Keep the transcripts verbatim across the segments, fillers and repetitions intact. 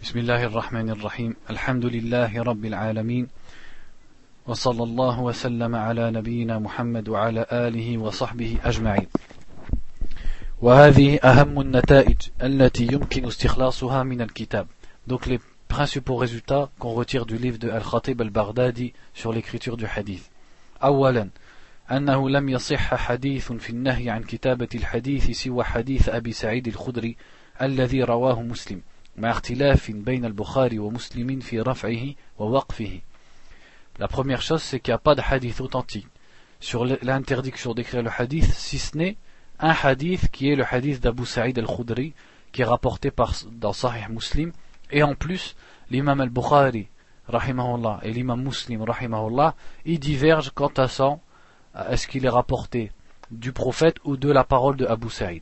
بسم الله الرحمن الرحيم الحمد لله رب العالمين وصلى الله وسلم على نبينا محمد وعلى آله وصحبه أجمعين وهذه أهم النتائج التي يمكن استخلاصها من الكتاب. Donc les principaux résultats qu'on retire du livre de Al-Khatib al-Baghdadi sur l'écriture du hadith. أولا أنه لم يصح حديث في النهي عن كتابة الحديث سوى حديث أبي سعيد الخدري الذي رواه مسلم مع اختلاف بين البخاري ومسلم في رفعه ووقفه. La première chose, c'est qu'il n'y a pas de hadith authentique sur l'interdiction d'écrire le hadith, si ce n'est un hadith qui est le hadith d'Abu Sa'id al-Khudri, qui est rapporté par, dans Sahih Muslim, et en plus, l'imam al-Bukhari, rahimahullah, et l'imam Muslim, rahimahullah, ils divergent quant à ça, est-ce qu'il est rapporté du prophète ou de la parole de Abu Sa'id.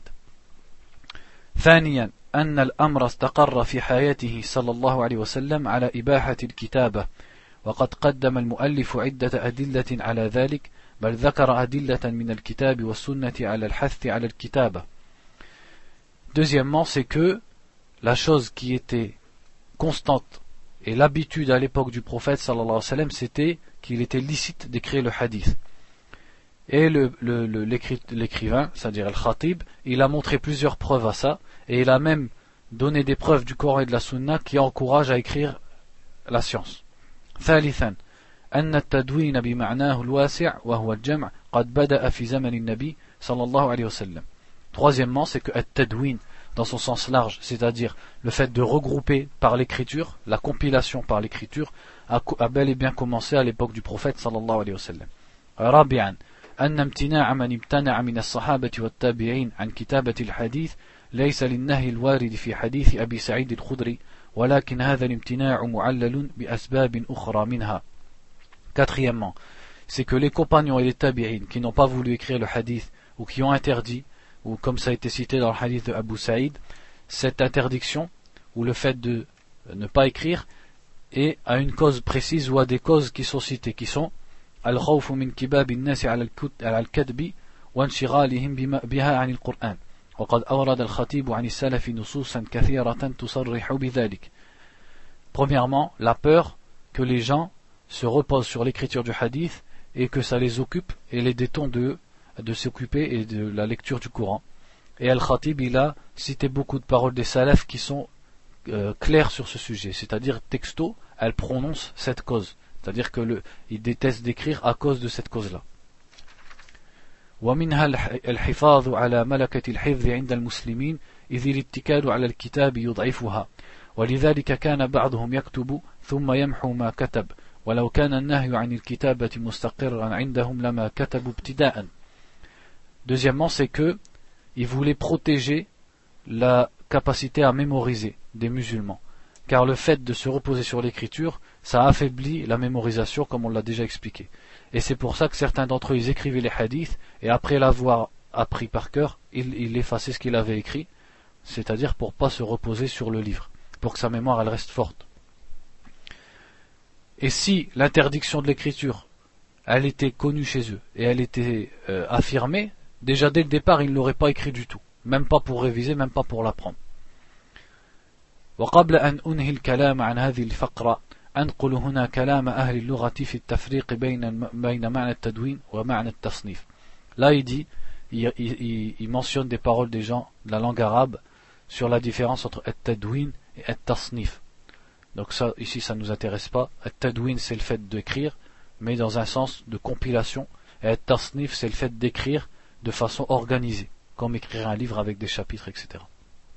ثانيا أن الأمر استقر في حياته صلى الله عليه وسلم على إباحة الكتابة وقد قدم المؤلف عدة أدلة على ذلك بل ذكر أدلة من الكتاب والسنة على الحث على الكتابة. Deuxièmement, c'est que la chose qui était constante et l'habitude à l'époque du prophète sallallahu alayhi wa sallam, c'était qu'il était licite d'écrire le hadith. Et le, le, le, l'écri, l'écrivain, c'est-à-dire Al-Khatib, il a montré plusieurs preuves à ça, et il a même donné des preuves du Coran et de la Sunna qui encouragent à écrire la science. ثالثا أن التدوين بمعناه الواسع وهو الجمع قد بدأ في زمن النبي صلى الله عليه وسلم. Troisièmement, c'est que التدوين dans son sens large, c'est-à-dire le fait de regrouper par l'écriture, la compilation par l'écriture, a, a bel et bien commencé à l'époque du prophète صلى الله عليه وسلم. رابعا أن امتناع من امتنع من الصحابة والتابعين عن كتابة الحديث ليس للنهي الوارد في حديث أبي سعيد الخدري ولكن هذا الامتناع معلل بأسباب أخرى منها. Quatrièmement, c'est que les compagnons et les tabi'in qui n'ont pas voulu écrire le hadith ou qui ont interdit, ou comme ça a été cité dans le hadith de Abu Saïd, cette interdiction ou le fait de ne pas écrire est à une cause précise ou à des causes qui sont citées, qui sont الخوف من كباب الناس على الكذب وانشغالهم بها عن القرآن وقد أورد الخطيب عن السلف نصوصا كثيرة تصرح بذلك. Premièrement, la peur que les gens se reposent sur l'écriture du hadith et que ça les occupe et les détourne de, de s'occuper et de la lecture du Coran. Et Al-Khatib, il a cité beaucoup de paroles des salafs qui sont euh, claires sur ce sujet, c'est-à-dire texto, elles prononcent cette cause. C'est-à-dire qu'il déteste d'écrire à cause de cette cause-là. ومنها الحفاظ على ملكة الحفظ عند المسلمين إذ الاتكال على الكتاب يضعفها ولذلك كان بعضهم يكتب ثم يمحو ما كتب ولو كان النهي عن الكتابة مستقرا عندهم لما كتبوا ابتداء. Deuxièmement, c'est que ils voulaient protéger la capacité à mémoriser des musulmans. Car le fait de se reposer sur l'écriture, ça affaiblit la mémorisation, comme on l'a déjà expliqué. Et c'est pour ça que certains d'entre eux, ils écrivaient les hadiths, et après l'avoir appris par cœur, ils, ils effaçaient ce qu'il avait écrit, c'est-à-dire pour ne pas se reposer sur le livre, pour que sa mémoire elle reste forte. Et si l'interdiction de l'écriture, elle était connue chez eux, et elle était euh, affirmée, déjà dès le départ, ils ne l'auraient pas écrit du tout, même pas pour réviser, même pas pour l'apprendre. وقبل أن أنهي الكلام عن هذه الفقرة أنقل هنا كلام أهل اللغة في التفريق بين بين معنى التدوين ومعنى التصنيف. Là il dit, il, il, il mentionne des paroles des gens de la langue arabe sur la différence entre التدوين et التصنيف. Donc ça ici ça ne nous intéresse pas. التدوين c'est le fait d'écrire, mais dans un sens de compilation, et التصنيف c'est le fait d'écrire de façon organisée, comme écrire un livre avec des chapitres, et cetera.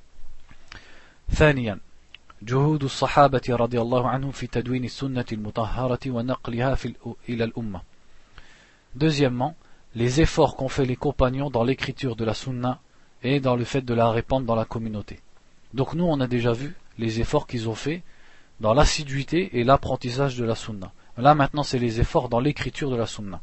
ثانيا جهود الصحابة رضي الله عنهم في تدوين السنة المطهرة ونقلها في إلى الأمة. Deuxièmement, les efforts qu'ont fait les compagnons dans l'écriture de la sunna et dans le fait de la répandre dans la communauté. Donc nous on a déjà vu les efforts qu'ils ont fait dans l'assiduité et l'apprentissage de la sunna. Là maintenant c'est les efforts dans l'écriture de la sunna.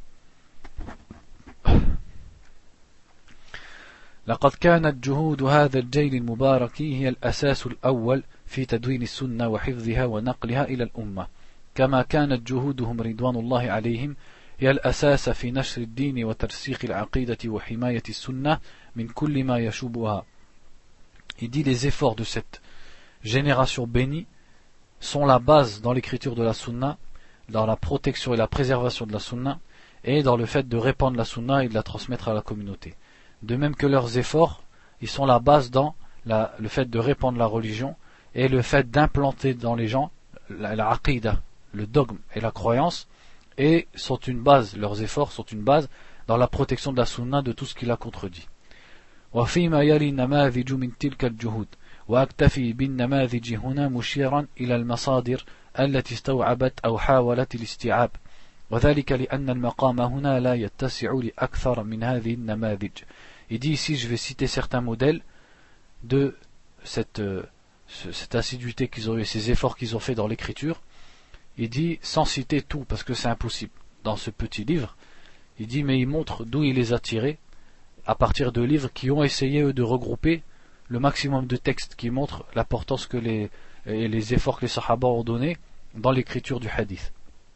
لقد كانت جهود هذا الجيل المبارك هي الأساس الأول في تدوين السنة وحفظها ونقلها إلى الأمة كما كانت جهودهم رضوان الله عليهم هي الأساس في نشر الدين وترسيخ العقيدة وحماية السنة من كل ما يشوبها. Il dit les efforts de cette génération bénie sont la base dans l'écriture de la sunna, dans la protection et la préservation de la sunna, et dans le fait de répandre la sunna et de la transmettre à la communauté. De même que leurs efforts, ils sont la base dans la, le fait de répandre la religion et le fait d'implanter dans les gens la, la aqidah, le dogme et la croyance, et sont une base, leurs efforts sont une base dans la protection de la sunna de tout ce qui la contredit. وفيما يلي نماذج من تلك الجهود وأكتفي بالنماذج هنا مشيرا إلى المصادر التي استوعبت أو حاولت الاستيعاب وذلك لأن المقام هنا لا يتسع لأكثر من هذه النماذج. Il dit ici, je vais citer certains modèles de cette, euh, cette assiduité qu'ils ont eu, ces efforts qu'ils ont fait dans l'écriture. Il dit, sans citer tout, parce que c'est impossible dans ce petit livre, il dit, mais il montre d'où il les a tirés, à partir de livres qui ont essayé eux de regrouper le maximum de textes qui montrent l'importance que les, et les efforts que les sahaba ont donnés dans l'écriture du hadith.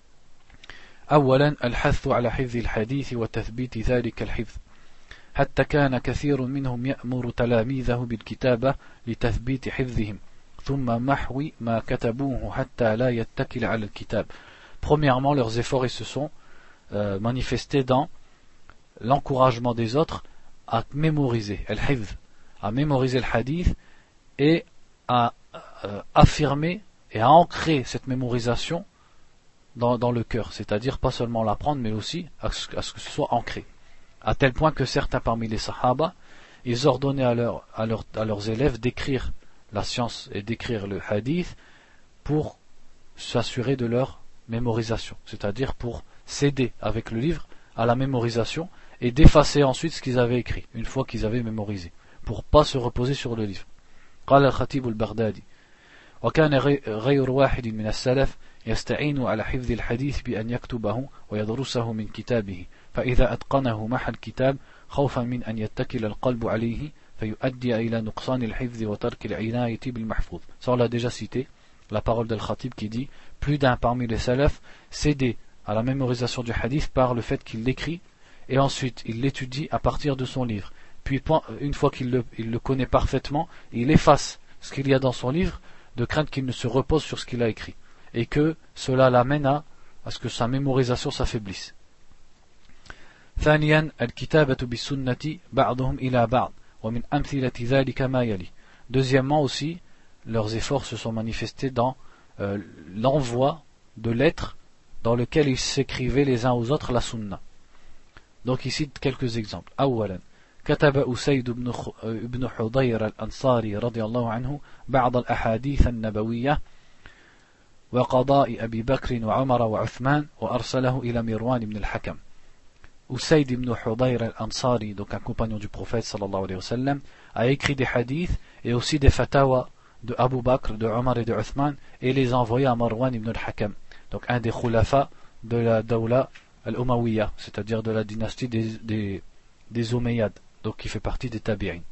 أولا الحث على حفظ الحديث وتثبيت ذلك الحفظ حتى كان كثير منهم يأمر تلاميذه بالكتابة لتثبيت حفظهم ثم محو ما كتبوه حتى لا يتكل على الكتاب. Premièrement, leurs efforts ils se sont euh, manifestés dans l'encouragement des autres à mémoriser al-hifz, à mémoriser le hadith et à euh, affirmer et à ancrer cette mémorisation dans, dans le cœur, c'est-à-dire pas seulement l'apprendre mais aussi à ce, à ce que ce soit ancré, à tel point que certains parmi les sahaba ils ordonnaient à, leur, à, leur, à leurs élèves d'écrire la science et d'écrire le hadith pour s'assurer de leur mémorisation, c'est-à-dire pour s'aider avec le livre à la mémorisation et d'effacer ensuite ce qu'ils avaient écrit une fois qu'ils avaient mémorisé, pour pas se reposer sur le livre. قال الخطيب البغدادي وكان غير واحد من السلف يستعين على حفظ الحديث بأن يكتبه ويدرسه من كتابه فإذا أتقنه محى الكتاب خوفا من أن يتكل القلب عليه فيؤدي إلى نقصان الحفظ وترك العناية بالمحفوظ. Ça on l'a déjà cité, la parole d'Al-Khatib qui dit plus d'un parmi les salafs s'aider à la mémorisation du hadith par le fait qu'il l'écrit et ensuite il l'étudie à partir de son livre. Puis une fois qu'il le, il le connaît parfaitement, il efface ce qu'il y a dans son livre de crainte qu'il ne se repose sur ce qu'il a écrit et que cela l'amène à, à ce que sa mémorisation s'affaiblisse. ثانيا الكتابة بالسنة بعضهم إلى بعض ومن أمثلة ذلك ما يلي. Deuxièmement aussi, leurs efforts se sont manifestés dans euh, l'envoi de lettres dans lequel ils s'écrivaient les uns aux autres la sunna. Donc ici quelques exemples. أولا كتب أسيد بن, بن حضير الأنصاري رضي الله عنه بعض الأحاديث النبوية وقضاء أبي بكر وعمر وعثمان وأرسله إلى مروان بن الحكم. Usayd ibn Hudayr al-Ansari, donc un compagnon du prophète sallallahu alayhi wa sallam, a écrit des hadiths et aussi des fatawas de Abu Bakr, de Omar et de Uthman et les a envoyés à Marwan ibn al-Hakam, donc un des khulafa de la Dawla al-Umayyah, c'est-à-dire de la dynastie des, des, des Umayyads, donc qui fait partie des Tabi'in.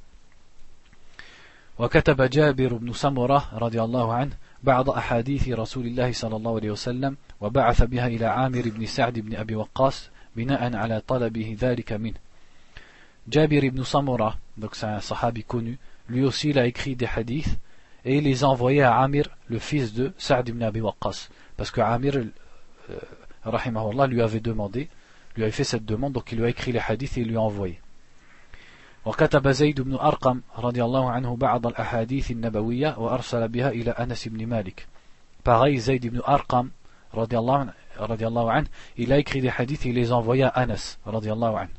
وكتب جابر بن سمرة رضي الله عنه بعض أحاديث رسول الله صلى الله عليه وسلم وبعث بها إلى عامر بن سعد بن أبي وقاص بناء على طلبه ذلك منه. Jabir ibn Samura, donc c'est un sahabi connu, lui aussi il a écrit des hadiths et il les a envoyés à Amir, le fils de Sa'd ibn Abi Waqqas, parce que Amir euh, rahimahullah lui avait demandé, lui avait fait cette demande, donc il lui a écrit les hadiths et il lui a envoyé. وكتب زيد بن أرقم رضي الله عنه بعض الأحاديث النبوية وأرسل بها إلى أنس بن مالك. Pareil, Zayd ibn Arqam radiallahu anhu, il a écrit des hadiths et il les a envoyés à Anas radiallahu anhu.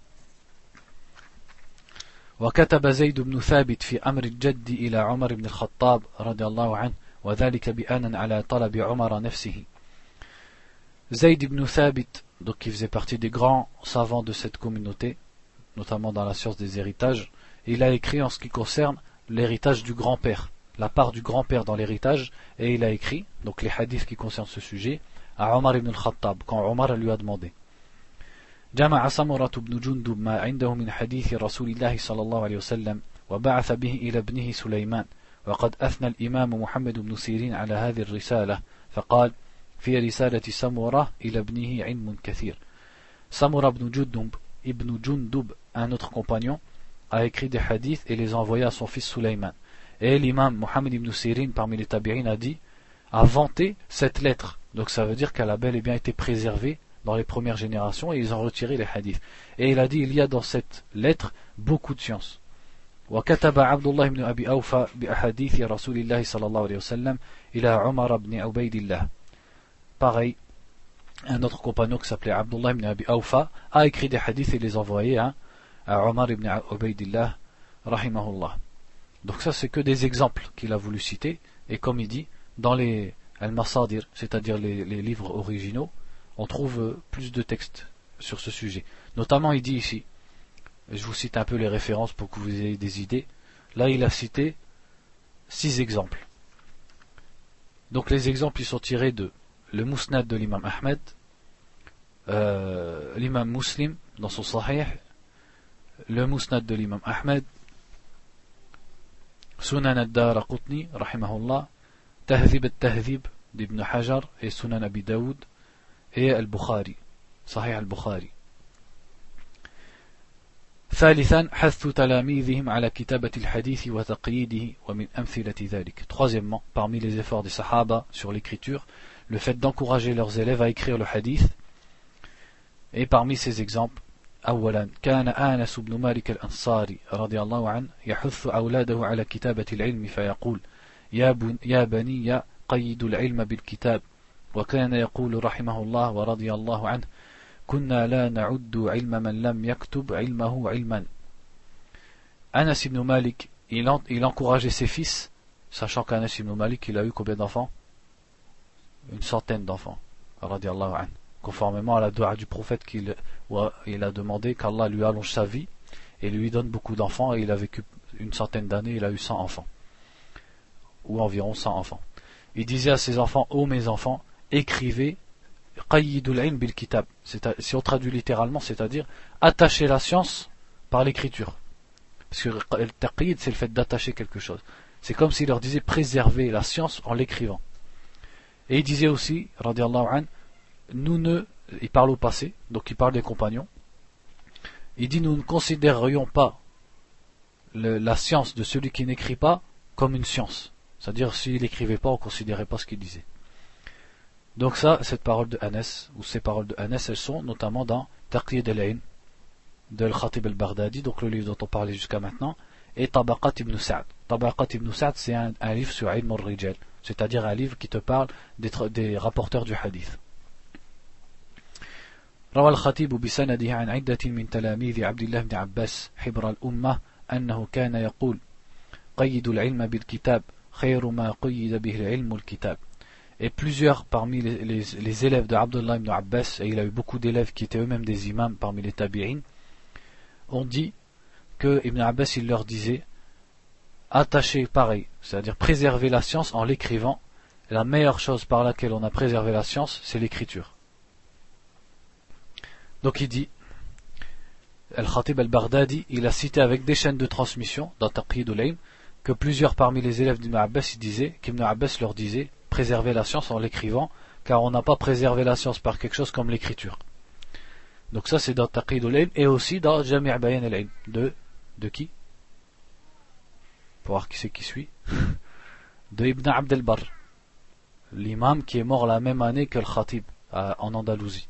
وكتب زيد بن ثابت في أمر الجد إلى عمر بن الخطاب رضي الله عنه وذلك بأن على طلب عمر نفسه. Zayd ibn Thabit, donc qui faisait partie des grands savants de cette communauté, notamment dans la science des héritages, il a écrit en ce qui concerne l'héritage du grand-père, la part du grand-père dans l'héritage, et il a écrit, donc les hadiths qui concernent ce sujet, à Omar ibn al-Khattab, quand Omar lui a demandé. جمع سمرة بن جندب ما عنده من حديث رسول الله صلى الله عليه وسلم وبعث به إلى ابنه سليمان وقد أثنى الإمام محمد بن سيرين على هذه الرسالة فقال في رسالة سمرة إلى ابنه علم كثير. Samura ibn Jundub, ibn Jundub, un autre compagnon, a écrit des hadiths et les a envoyés à son fils Sulayman. Et l'imam Muhammad ibn Sirin parmi les tabi'in a dit a vanté cette lettre. Donc ça veut dire qu'elle a bel et bien été préservée dans les premières générations et ils ont retiré les hadiths. Et il a dit, il y a dans cette lettre beaucoup de science. وكتب عبد الله بن أبي أوفى بأحاديث رسول الله صلى الله عليه وسلم إلى عمر بن عبيد الله. Pareil, un autre compagnon qui s'appelait Abdullah ibn Abi Awfa a écrit des hadiths et les envoyés hein, à Omar ibn Ubaydillah rahimahullah. Donc ça c'est que des exemples qu'il a voulu citer, et comme il dit, dans les al-masadir, c'est-à-dire les, les livres originaux, on trouve plus de textes sur ce sujet. Notamment il dit ici, je vous cite un peu les références pour que vous ayez des idées. Là il a cité six exemples. Donc les exemples ils sont tirés de le Musnad de l'imam Ahmed, euh, l'imam Muslim dans son Sahih, le Musnad de l'imam Ahmed, Sunan ad-Daraqutni rahimahullah, Tahdhib al-Tahdhib d'Ibn Hajar et Sunan Abi Daoud et Al-Bukhari, Sahih Al-Bukhari. ثالثا حث تلاميذهم على كتابة الحديث وتقييده ومن أمثلة ذلك. Troisièmement, parmi les efforts des Sahaba sur l'écriture, le fait d'encourager leurs élèves à écrire le hadith. Et parmi ces exemples, أولا كان آنس بن مالك الأنصاري رضي الله عنه يحث أولاده على كتابة العلم فيقول يا, بن يا بني قيدوا العلم بالكتاب وكان يقول رحمه الله ورضي الله عنه كنا لا نعد علم من لم يكتب علمه علما. Anas ibn Malik, il, en, il encourageait ses fils, sachant qu'Anas ibn Malik, il a eu combien d'enfants? Une centaine d'enfants, radiallahu anhu, conformément à la dua du prophète qu'il il a demandé qu'Allah lui allonge sa vie et lui donne beaucoup d'enfants, et il a vécu une centaine d'années, il a eu cent enfants, ou environ cent enfants. Il disait à ses enfants, ô mes enfants, écrivez qayyidul ilm bil kitab, si on traduit littéralement, c'est-à-dire attacher la science par l'écriture, parce que le taqyid c'est le fait d'attacher quelque chose. C'est comme s'il leur disait préserver la science en l'écrivant. Et il disait aussi, radiallahu anhu, nous ne, il parle au passé, donc il parle des compagnons, il dit nous ne considérerions pas le, la science de celui qui n'écrit pas comme une science, c'est-à-dire s'il n'écrivait pas on ne considérait pas ce qu'il disait. Donc ça, cette parole de Anas, ou ces paroles de Anas, elles sont notamment dans Taqyid al-Ilm de Al-Khatib al-Baghdadi, donc le livre dont on parlait jusqu'à maintenant, et Tabaqat ibn Sa'd. Tabaqat ibn Sa'd, c'est un, un livre sur Ilm al-Rijal, c'est-à-dire un livre qui te parle des, des rapporteurs du hadith. روى الخطيب بسنده عن عدة من تلاميذ عبد الله بن عباس حبر الأمة أنه كان يقول قيد العلم بالكتاب خير ما قيد به العلم الكتاب. Et plusieurs parmi les, les, les élèves de Abdullah ibn Abbas, et il a eu beaucoup d'élèves qui étaient eux-mêmes des imams parmi les tabi'in, ont dit que Ibn Abbas il leur disait attacher pareil, c'est-à-dire préserver la science en l'écrivant. La meilleure chose par laquelle on a préservé la science, c'est l'écriture. Donc il dit, Al-Khatib al-Baghdadi, il a cité avec des chaînes de transmission dans Taqyid al-Ilm que plusieurs parmi les élèves d'Ibn Abbas ils disaient, qu'Ibn Abbas leur disait préserver la science en l'écrivant, car on n'a pas préservé la science par quelque chose comme l'écriture. Donc ça c'est dans Taqyid al-Ilm et aussi dans Jami' Bayan al-Ilm de, de qui? Pour voir qui c'est qui suit. De Ibn Abd al-Barr, l'imam qui est mort la même année que le Khatib en Andalousie.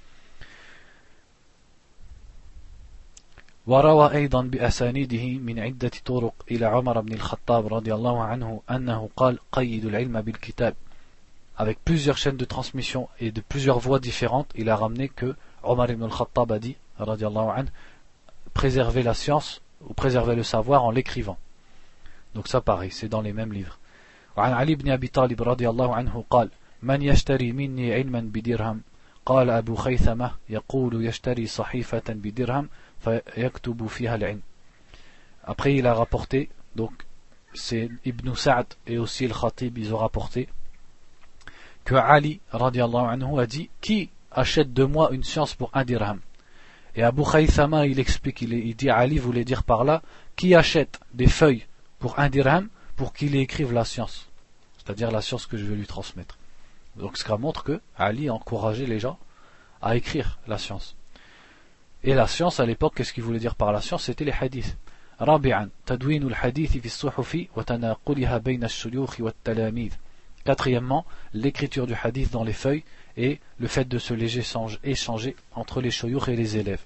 وروى أيضا بأسانيده من عدة طرق إلى عمر بن الخطاب رضي الله عنه أنه قال قيد العلم بالكتاب. Avec plusieurs chaînes de transmission et de plusieurs voix différentes, il a ramené que Omar ibn al-Khattab a dit, radiallahu anhu, préserver la science ou préserver le savoir en l'écrivant. Donc ça pareil, c'est dans les mêmes livres. وعن علي بن أبي طالب رضي الله عنه قال من يشتري مني علما بدرهم قال أبو خيثمة يقول يشتري صحيفة بدرهم فيكتب فيها العلم. Après il a rapporté, donc c'est Ibn Sa'd et aussi le Khatib ils ont rapporté que Ali radiallahu anhu a dit qui achète de moi une science pour un dirham. Et Abu Khaythama il explique, il, il dit Ali voulait dire par là qui achète des feuilles pour un dirham pour qu'il écrive la science, c'est-à-dire la science que je vais lui transmettre. Donc ce qui montre que Ali encourageait les gens à écrire la science. Et la science à l'époque, qu'est-ce qu'il voulait dire par la science? C'était les hadiths. رابعا تدوين الحديث في الصحف وتناقلها بين الشيوخ والتلاميذ Quatrièmement, l'écriture du hadith dans les feuilles et le fait de se les échanger entre les shuyukh et les élèves.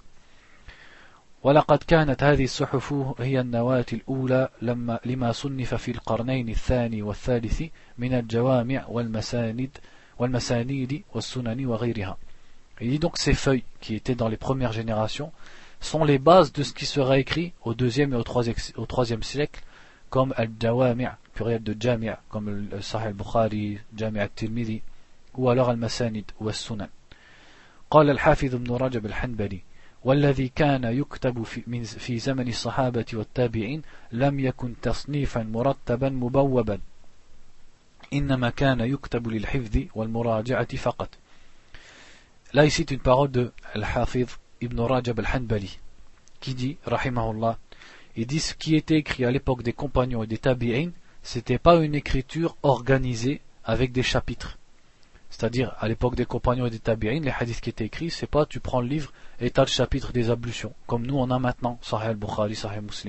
ولقد كانت هذه الصحف هي النواة الأولى لما لما صنف في القرنين الثاني والثالث من الجوامع والمساند والمسانيد والسنن وغيرها. Il dit donc ces feuilles qui étaient dans les premières générations sont les bases de ce qui sera écrit au deuxième et au troisième, au troisième siècle, comme al-Jawami', pluriel de Jami', comme le Sahih al-Bukhari, Jami' al-Tirmidhi, ou alors al-Masanid ou al-Sunan. قال الحافظ ابن رجب الحنبلي والذي كان يكتب في, من في زمن الصحابة والتابعين لم يكن تصنيفا مرتبا مبوبا إنما كان يكتب للحفظ والمراجعة فقط. Là ici une parole de Al-Hafiz Ibn Rajab al-Hanbali qui dit, rahimahullah, il dit ce qui était écrit à l'époque des compagnons et des tabi'in, c'était pas une écriture organisée avec des chapitres. C'est-à-dire, à l'époque des compagnons et des tabi'in, les hadiths qui étaient écrits, c'est pas tu prends le livre et t'as le chapitre des ablutions, comme nous on a maintenant, Sahih al-Bukhari, Sahih Muslim.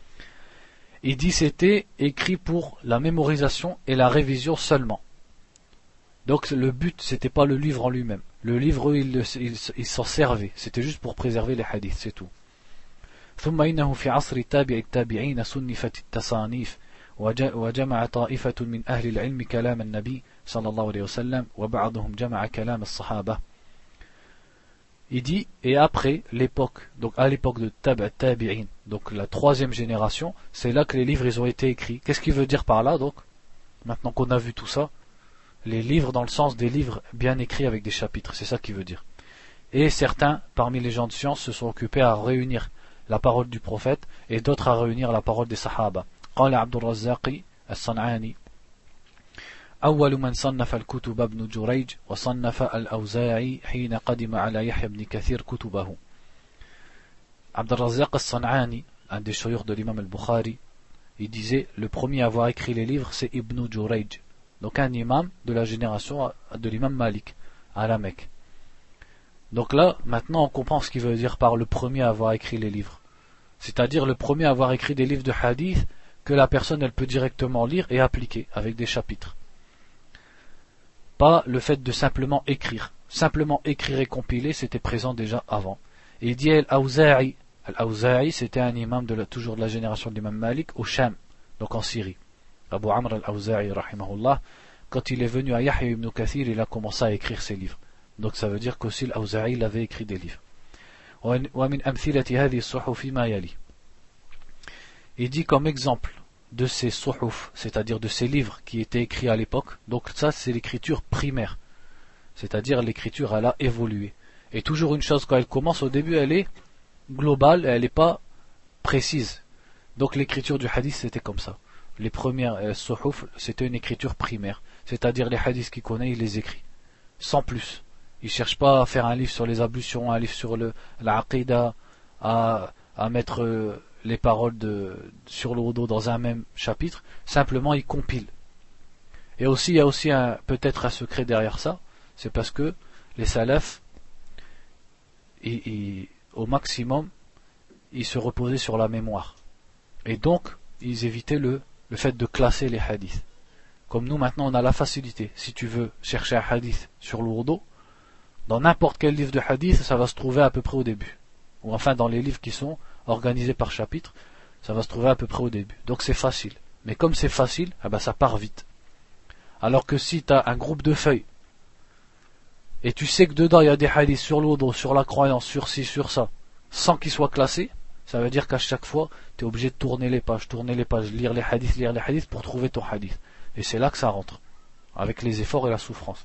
Il dit c'était écrit pour la mémorisation et la révision seulement. Donc le but, c'était pas le livre en lui-même. Le livre, il, il, il s'en servait. C'était juste pour préserver les hadiths, c'est tout. ثم إنه في عصر التابع التابعين صنفت التصانيف وجمع طائفة من أهل العلم كلام النبي صلى الله عليه وسلم وبعضهم جمع كلام الصحابة. Il dit, et après l'époque, donc à l'époque de Tab' Tabi'in, donc la troisième génération, c'est là que les livres ils ont été écrits. Qu'est-ce qu'il veut dire par là donc? Maintenant qu'on a vu tout ça, les livres dans le sens des livres bien écrits avec des chapitres, c'est ça qu'il veut dire. Et certains parmi les gens de science se sont occupés à réunir la parole du prophète et d'autres à réunir la parole des sahaba. قال عبد الرزاق الصنعاني أول من صنف الكتب ابن جريج وصنف الأوزاعي حين قدم على يحيى بن كثير كتبه. عبد الرزاق الصنعاني, un des shuyukh de l'imam al-Bukhari, il disait le premier à avoir écrit les livres c'est Ibn Jurayj, donc un imam de la génération de l'imam Malik à la Mecque. Donc là, maintenant on comprend ce qu'il veut dire par le premier à avoir écrit les livres. C'est-à-dire le premier à avoir écrit des livres de hadith que la personne elle peut directement lire et appliquer avec des chapitres. Pas le fait de simplement écrire. Simplement écrire et compiler, c'était présent déjà avant. Et il dit Al-Awza'i. Al-Awza'i, c'était un imam de la, toujours de la génération de l'imam Malik au Sham, donc en Syrie. Abu Amr al-Awza'i, rahimahullah, quand il est venu à Yahya ibn Kathir, il a commencé à écrire ses livres. Donc ça veut dire qu'aussi l'Awza'i il avait écrit des livres. ومن أمثلة هذه الصحف ما يلي. Il dit comme exemple de ces suhuf, c'est-à-dire de ces livres qui étaient écrits à l'époque, donc ça c'est l'écriture primaire, c'est-à-dire l'écriture elle a évolué. Et toujours une chose, quand elle commence au début elle est globale, elle n'est pas précise. Donc l'écriture du hadith c'était comme ça. Les premières euh, suhuf c'était une écriture primaire, c'est-à-dire les hadiths qu'il connaît il les écrit, sans plus. Il ne cherche pas à faire un livre sur les ablutions, un livre sur le, l'aqida, à, à mettre euh, les paroles de, sur le wudu dans un même chapitre. Simplement, il compile. Et aussi, il y a aussi un, peut-être un secret derrière ça. C'est parce que les salafs, ils, ils, au maximum, ils se reposaient sur la mémoire. Et donc, ils évitaient le, le fait de classer les hadiths. Comme nous, maintenant, on a la facilité. Si tu veux chercher un hadith sur le wudu, dans n'importe quel livre de hadith, ça va se trouver à peu près au début. Ou enfin dans les livres qui sont organisés par chapitre, ça va se trouver à peu près au début. Donc c'est facile. Mais comme c'est facile, eh ben ça part vite. Alors que si tu as un groupe de feuilles, et tu sais que dedans il y a des hadiths sur l'audo, sur la croyance, sur ci, sur ça, sans qu'ils soient classés, ça veut dire qu'à chaque fois, tu es obligé de tourner les pages, tourner les pages, lire les hadiths, lire les hadiths pour trouver ton hadith. Et c'est là que ça rentre, avec les efforts et la souffrance.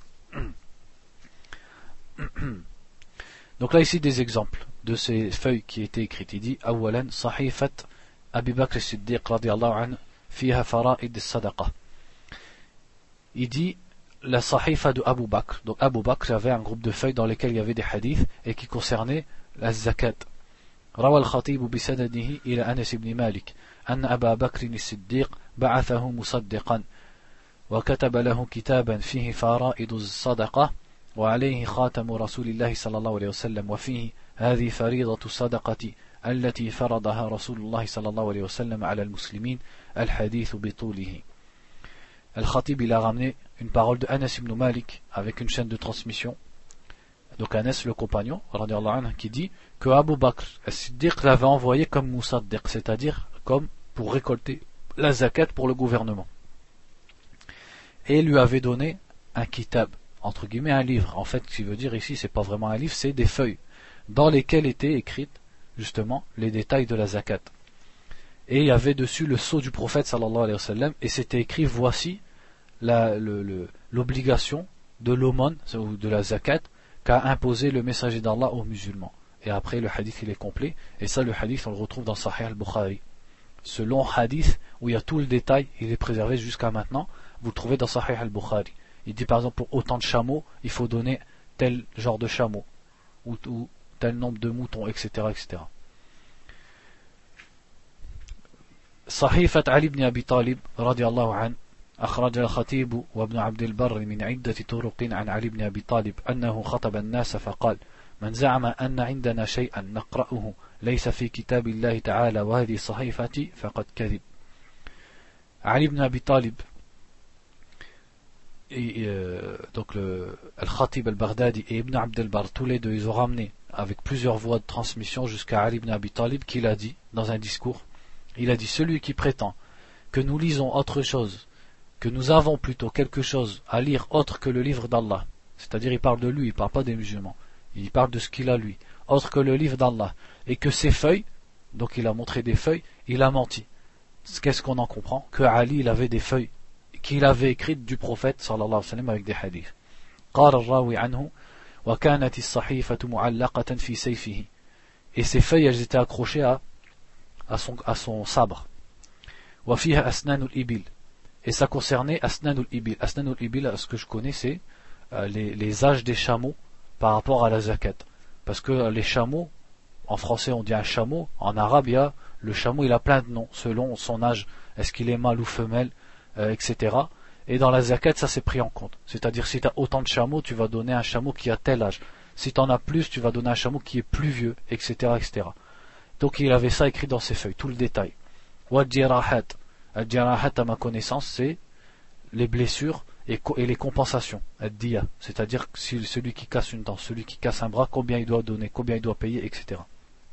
Donc là ici des exemples de ces feuilles qui étaient écrites. Il dit أولا صحيفة أبي بكر الصديق رضي الله عنه فيها فرائض الصدقة. Il dit la sahifa de Abu Bakr. Donc Abu Bakr avait un groupe de feuilles dans lesquelles il y avait des hadiths et qui concernaient la zakat. روى الخطيب بسنده إلى أنس بن مالك أن أبا بكر الصديق بعثه مصدقا وكتب له كتابا فيه فرائض الصدقة وعليه خاتم رسول الله صلى الله عليه وسلم وفيه هذه فريضة الصدقة التي فرضها رسول الله صلى الله عليه وسلم على المسلمين الحديث بطوله. Al-Khatib il a ramené une parole de Anas ibn Malik avec une chaîne de transmission. Donc Anas, le compagnon, radiallahu anhu, qui dit que Abu Bakr as-Siddiq l'avait envoyé comme Moussaddiq, c'est-à-dire comme pour récolter la zakat pour le gouvernement. Et lui avait donné un kitab, entre guillemets un livre. En fait, ce qu'il veut dire ici, c'est pas vraiment un livre, c'est des feuilles dans lesquelles étaient écrites justement les détails de la zakat. Et il y avait dessus le sceau du prophète sallallahu alayhi wa sallam, et c'était écrit voici la, le, le, l'obligation de l'aumône ou de la zakat qu'a imposé le messager d'Allah aux musulmans. Et après le hadith il est complet, et ça le hadith on le retrouve dans Sahih al-Bukhari. Ce long hadith où il y a tout le détail, il est préservé jusqu'à maintenant, vous le trouvez dans Sahih al-Bukhari. Il dit par exemple pour autant de chameaux, il faut donner tel genre de chameau, ou, ou tel nombre de moutons, et cetera et cetera. صحيفة علي بن أبي طالب رضي الله عنه أخرج الخطيب وابن عبد البر من عدة طرق عن علي بن أبي طالب أنه خطب الناس فقال من زعم أن عندنا شيئا نقرأه ليس في كتاب الله تعالى وهذه صحيفتي فقد كذب. علي بن أبي طالب et, euh, donc le Al-Khatib al-Baghdadi et Ibn Abd al-Barr, tous les deux, ils ont ramené avec plusieurs voies de transmission jusqu'à Ali ibn Abi Talib, qui l'a dit dans un discours. Il a dit, celui qui prétend que nous lisons autre chose, que nous avons plutôt quelque chose à lire autre que le livre d'Allah, c'est-à-dire il parle de lui, il parle pas des musulmans, il parle de ce qu'il a lui, autre que le livre d'Allah, et que ces feuilles, donc il a montré des feuilles, il a menti. Qu'est-ce qu'on en comprend? Que Ali, il avait des feuilles qu'il avait écrites du prophète sallallahu alayhi wa sallam avec des hadiths. قال الراوي عنه وكانت الصحيفة معلقة في سيفه. Et ces feuilles, elles étaient accrochées à, à, son, à son sabre. وفيها أسنان الإبل. Et ça concernait أسنان الإبل. أسنان الإبل, ce que je connais, c'est euh, les, les âges des chameaux par rapport à la zakat. Parce que euh, les chameaux, en français on dit un chameau, en arabe il y a, le chameau il a plein de noms selon son âge, est-ce qu'il est mâle ou femelle, euh, et cetera. Et dans la zakat ça c'est pris en compte. C'est-à-dire si tu as autant de chameaux, tu vas donner un chameau qui a tel âge. Si tu en as plus, tu vas donner un chameau qui est plus vieux, et cetera, et cetera. Donc il avait ça écrit dans ses feuilles, tout le détail. Wal-jirahat. Al-jirahat à ma connaissance c'est les blessures et, et les compensations, ad-diya, c'est-à-dire si celui qui casse une dent, celui qui casse un bras, combien il doit donner, combien il doit payer, et cetera.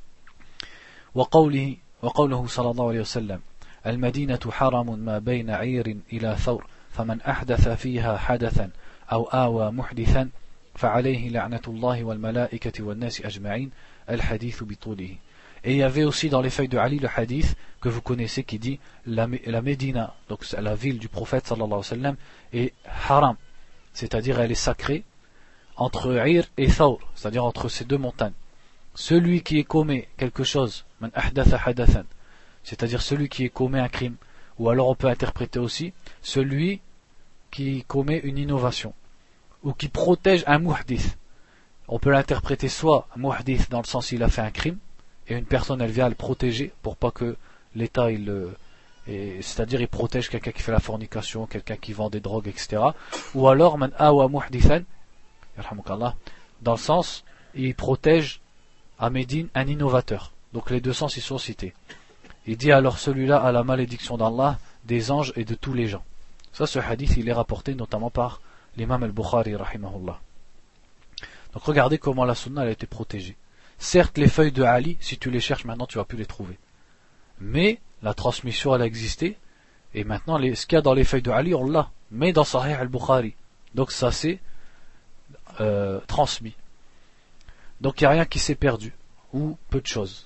وقوله وقوله صلى الله عليه وسلم المدينة حرم ما بين عير إلى ثور فمن أحدث فيها حدثا أو آوى محدثا فعليه لعنة الله والملائكة والناس أجمعين الحديث بطوله. Et il y avait aussi dans les feuilles de Ali le hadith que vous connaissez qui dit la, la Médina, donc la ville du prophète sallallahu alayhi wa sallam, est haram, c'est-à-dire elle est sacrée entre Ir et Thawr, c'est-à-dire entre ces deux montagnes. Celui qui commet quelque chose, man ahdatha hadathan, c'est-à-dire celui qui commet un crime, ou alors on peut interpréter aussi celui qui commet une innovation, ou qui protège un muhdith. On peut l'interpréter soit muhdith dans le sens il a fait un crime, et une personne elle vient le protéger pour pas que l'État il et, c'est-à-dire il protège quelqu'un qui fait la fornication, quelqu'un qui vend des drogues, et cetera. Ou alors man awa muhdithan, dans le sens il protège à Médine un innovateur. Donc les deux sens ils sont cités. Il dit alors celui-là a la malédiction d'Allah, des anges et de tous les gens. Ça, ce hadith il est rapporté notamment par l'imam al-Bukhari rahimahullah. Donc regardez comment la sunna elle a été protégée. Certes, les feuilles de Ali, si tu les cherches maintenant, tu vas plus les trouver. Mais la transmission, elle a existé. Et maintenant, les, ce qu'il y a dans les feuilles de Ali, on l'a. Mais dans Sahih al-Bukhari. Donc ça s'est euh, transmis. Donc il n'y a rien qui s'est perdu. Ou peu de choses.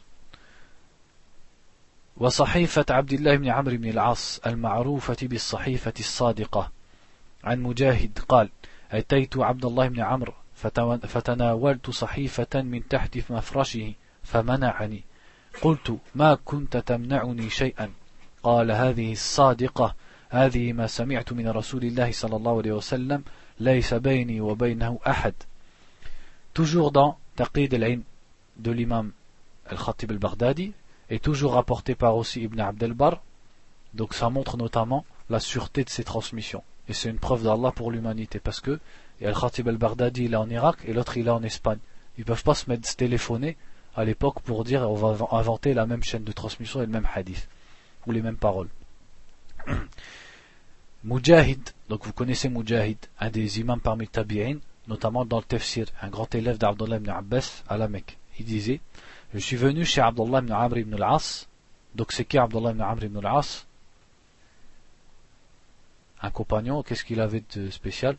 وصحيفة عبد الله بن عمرو بن العاص المعروفة بالصحيفة الصادقة عن مجاهد قال أتيت عبد الله بن عمرو فتناولت صحيفة من تحت مفرشه فمنعني قلت ما كنت تمنعني شيئا قال هذه الصادقة هذه ما سمعت من رسول الله صلى الله عليه وسلم ليس بيني وبينه أحد. Toujours dans Taqid al-Ilm de l'imam al-Khatib al-Baghdadi et toujours rapporté par aussi Ibn Abd al-Barr. Donc ça montre notamment la sûreté de ces transmissions et c'est une preuve d'Allah pour l'humanité parce que et Al-Khatib al-Baghdadi il est en Irak et l'autre il est en Espagne. Ils ne peuvent pas se mettre se téléphoner à l'époque pour dire on va inventer la même chaîne de transmission et le même hadith ou les mêmes paroles. Mujahid, donc vous connaissez Mujahid, un des imams parmi Tabi'in, notamment dans le Tafsir, un grand élève d'Abdullah ibn Abbas à la Mecque. Il disait, je suis venu chez Abdullah ibn Amr ibn al-As. Donc c'est qui Abdullah ibn Amr ibn al-As? Un compagnon, qu'est-ce qu'il avait de spécial?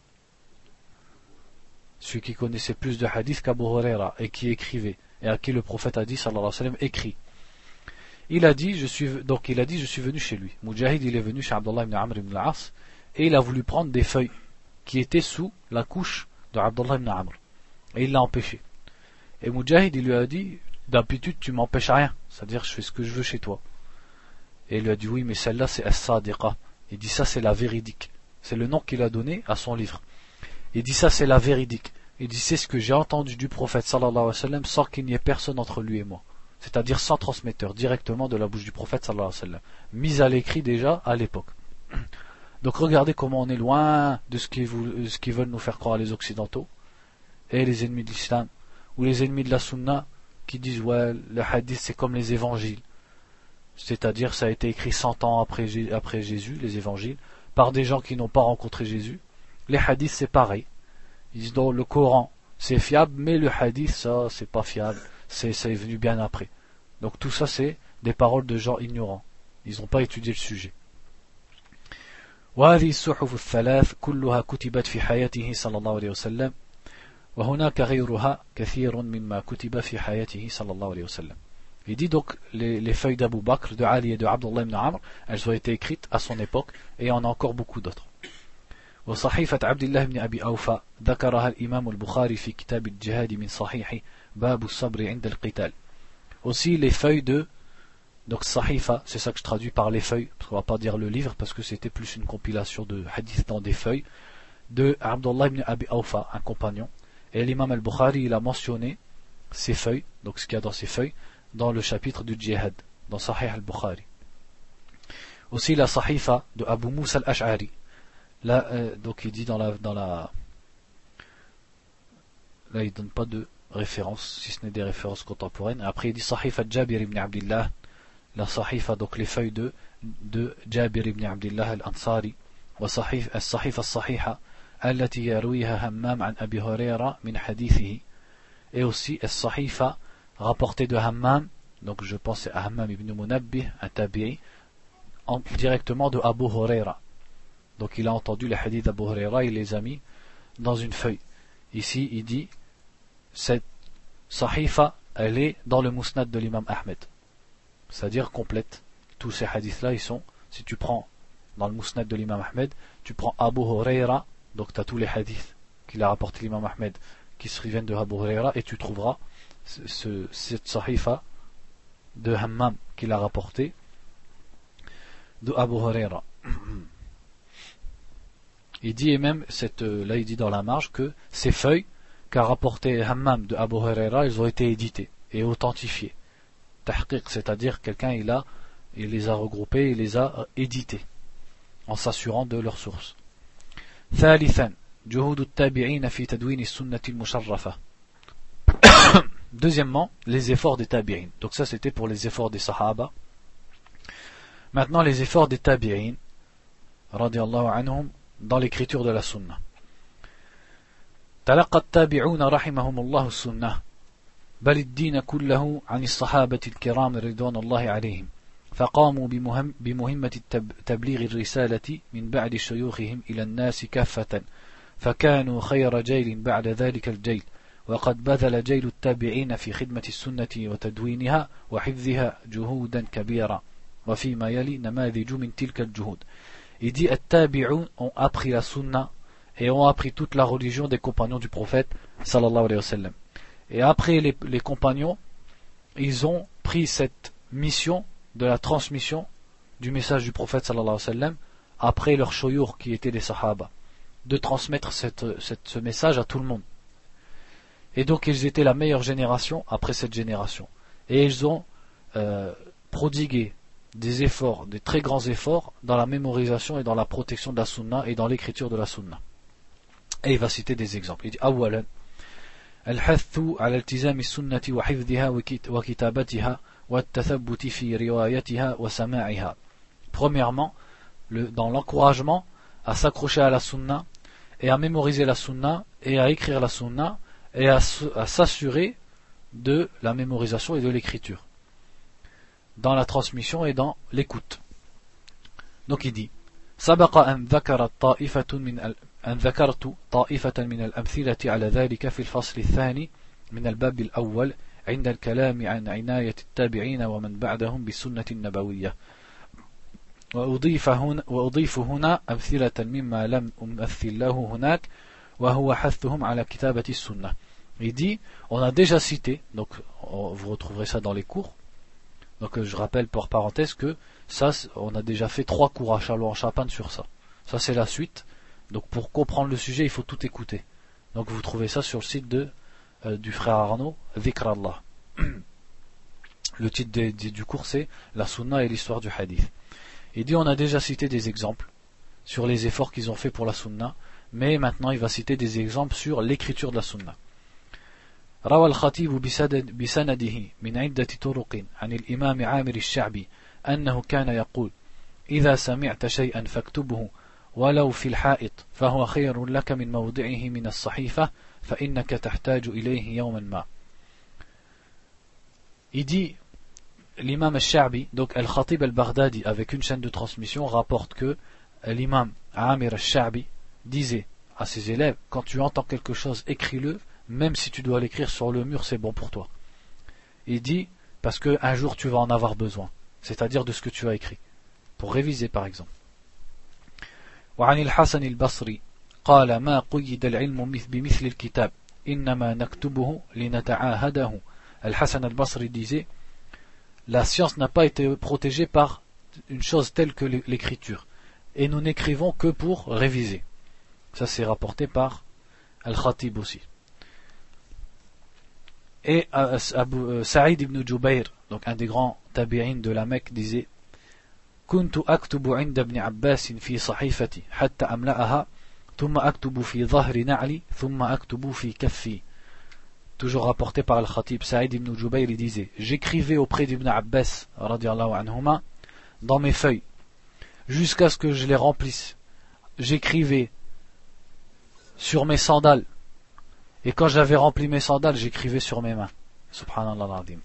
Celui qui connaissait plus de hadith qu'Abu Huraira et qui écrivait, et à qui le prophète a dit, sallallahu alayhi wa sallam, écrit. Il a dit, je suis, donc il a dit, je suis venu chez lui. Mujahid, il est venu chez Abdullah ibn Amr ibn al-As, et il a voulu prendre des feuilles qui étaient sous la couche de Abdullah ibn Amr. Et il l'a empêché. Et Mujahid, il lui a dit, d'habitude, tu m'empêches rien. C'est-à-dire, je fais ce que je veux chez toi. Et il lui a dit, oui, mais celle-là, c'est As-Sadiqa. Il dit, ça, c'est la véridique. C'est le nom qu'il a donné à son livre. Il dit, ça, c'est la véridique. Il dit, c'est ce que j'ai entendu du prophète, sallallahu alayhi wa sallam, sans qu'il n'y ait personne entre lui et moi. C'est-à-dire sans transmetteur, directement de la bouche du prophète, sallallahu alayhi wa sallam. Mis à l'écrit déjà à l'époque. Donc regardez comment on est loin de ce qu'ils, ce qu'ils veulent nous faire croire les occidentaux et les ennemis de l'islam, ou les ennemis de la sunna, qui disent, ouais, le hadith c'est comme les évangiles. C'est-à-dire ça a été écrit cent ans après, après Jésus, les évangiles, par des gens qui n'ont pas rencontré Jésus. Les hadiths c'est pareil. Ils disent, donc le Coran c'est fiable, mais le hadith ça c'est pas fiable, c'est, c'est venu bien après. Donc tout ça c'est des paroles de gens ignorants. Ils n'ont pas étudié le sujet. وهذه الصحف الثلاث كلها كتبت في حياته صلى الله عليه وسلم وهناك غيرها كثير مما كتب في حياته صلى الله عليه وسلم. Il dit donc les, les feuilles d'Abu Bakr, de Ali et de Abdullah ibn Amr, elles ont été écrites à son époque et il y en a encore beaucoup d'autres. وصحيفة عبد الله بن أبي أوفى ذكرها الإمام البخاري في كتاب الجهاد من صحيح باب الصبر عند القتال. Aussi les feuilles de, donc Sahifa, c'est ça que je traduis par les feuilles, parce qu'on va pas dire le livre, parce que c'était plus une compilation de hadiths dans des feuilles, de Abdullah ibn Abi Awfa, un compagnon. Et l'imam al-Bukhari, il a mentionné ces feuilles, donc ce qu'il y a dans ces feuilles, dans le chapitre du djihad, dans Sahih al-Bukhari. Aussi la Sahifa de Abu Musa al-Ash'ari. Là, euh, donc il dit dans la, dans la, là il donne pas de références, si ce n'est des références contemporaines. Après il dit Sahifa Jabir ibn Abdillah, la Sahifa, donc les feuilles de, de Jabir ibn Abdillah al-Ansari, wa Sahif, al-Sahifa al-Sahiha, التي يرويها همام عن أبي هريرة من حديثه. Et aussi al-Sahifa rapporté de Hammam, donc je pense à Hammam ibn Munabbih, un tabi'i, directement de Abu Huraira. Donc il a entendu les hadiths d'Abu Huraira, il les a mis dans une feuille. Ici il dit, cette Sahifa, elle est dans le Musnad de l'imam Ahmed. C'est-à-dire complète. Tous ces hadiths-là, ils sont, si tu prends dans le Musnad de l'imam Ahmed, tu prends Abu Huraira, donc tu as tous les hadiths qu'il a rapporté l'imam Ahmed, qui se viennent de Abu Huraira, et tu trouveras ce, ce, cette Sahifa de Hammam qu'il a rapporté de Abu Huraira. Il dit, et même, cette, là il dit dans la marge que ces feuilles qu'a rapporté Hammam de Abu Huraira, elles ont été éditées et authentifiées. Tahqiq, c'est-à-dire quelqu'un il a, il les a regroupées, il les a éditées, en s'assurant de leur source. ثالثا جهود التابعين في تدوين السنة المشرفة. Deuxièmement, les efforts des tabi'in. Donc ça c'était pour les efforts des sahaba. Maintenant les efforts des tabi'in radiyallahu anhum dans l'écriture de la sunna. تلقى التابعون رحمهم الله السنة بل الدين كله عن الصحابة الكرام رضوان الله عليهم فقاموا بمهم بمهمة تبليغ الرسالة من بعد شيوخهم إلى الناس كافة فكانوا خير جيل بعد ذلك الجيل وقد بذل جيل التابعين في خدمة السنة وتدوينها وحفظها جهودا كبيرة وفيما يلي نماذج من تلك الجهود. Il dit التابعون ont appris la sunna et ont appris toute la religion des compagnons du prophète sallallahu alayhi wa sallam. Et après les, les compagnons, ils ont pris cette mission de la transmission du message du prophète sallallahu alayhi wa sallam après leurs shoyour qui étaient des sahaba, de transmettre cette, cette, ce message à tout le monde. Et donc ils étaient la meilleure génération après cette génération. Et ils ont euh, prodigué des efforts, des très grands efforts dans la mémorisation et dans la protection de la sunna et dans l'écriture de la sunna. Et il va citer des exemples. Il dit أولا الحث على التزام السنة وحفظها وكتابتها والتثبت في روايتها وسماعها. Premièrement, le, dans l'encouragement à s'accrocher à la sunna et à mémoriser la sunna et à écrire la sunna et à, à s'assurer de la mémorisation et de l'écriture dans la transmission et dans l'écoute. Donc il dit سبق أن ذكرت طائفة من أن ذكرت طائفة من الأمثلة على ذلك في الفصل الثاني من الباب الأول عند الكلام عن عناية التابعين ومن بعدهم بالسنة النبوية وأضيف هنا, وأضيف هنا أمثلة مما لم أمثل له هناك وهو حثهم على كتابة السنة. Il dit, on a déjà cité, donc vous retrouverez ça dans les cours. Donc je rappelle par parenthèse que ça, on a déjà fait trois cours à Charlot en Champagne sur ça. Ça c'est la suite. Donc pour comprendre le sujet, il faut tout écouter. Donc vous trouvez ça sur le site de, euh, du frère Arnaud, Dhikr Allah. Le titre de, de, du cours c'est La Sunna et l'histoire du Hadith. Il dit, on a déjà cité des exemples sur les efforts qu'ils ont fait pour la Sunna, mais maintenant il va citer des exemples sur l'écriture de la Sunna. روى الخطيب بسنده من عدة طرق عن الإمام عامر الشعبي أنه كان يقول إذا سمعت شيئا فاكتبه ولو في الحائط فهو خير لك من موضعه من الصحيفة فإنك تحتاج إليه يوما ما. Il dit, l'imam al-Sha'bi, donc al-Khatib al-Baghdadi, avec une chaîne de transmission, rapporte que l'imam Amir al-Sha'bi disait à ses élèves, quand tu entends quelque chose, écris-le, même si tu dois l'écrire sur le mur, c'est bon pour toi. Il dit, parce qu'un jour tu vas en avoir besoin, c'est-à-dire de ce que tu as écrit, pour réviser par exemple. وعن الحسن البصري قال ما قيد العلم بمثل الكتاب إنما نكتبه لنتعاهده. Al-Hassan al-Basri disait, la science n'a pas été protégée par une chose telle que l'écriture, et nous n'écrivons que pour réviser. Ça c'est rapporté par Al-Khatib aussi. Et euh, Abu, euh, Saïd ibn Jubayr, donc un des grands tabi'in de la Mecque, disait كنت أكتب عند ابن عباس في صحيفتي حتى أملأها ثم أكتب في ظهر نعلي ثم أكتب في كفي. Toujours rapporté par Al-Khatib, Saïd ibn Jubayr, il disait, j'écrivais auprès d'Ibn Abbas radiallahu anhuma dans mes feuilles jusqu'à ce que je les remplisse. J'écrivais sur mes sandales, et quand j'avais rempli mes sandales, j'écrivais sur mes mains. Subhanallah al-Azim.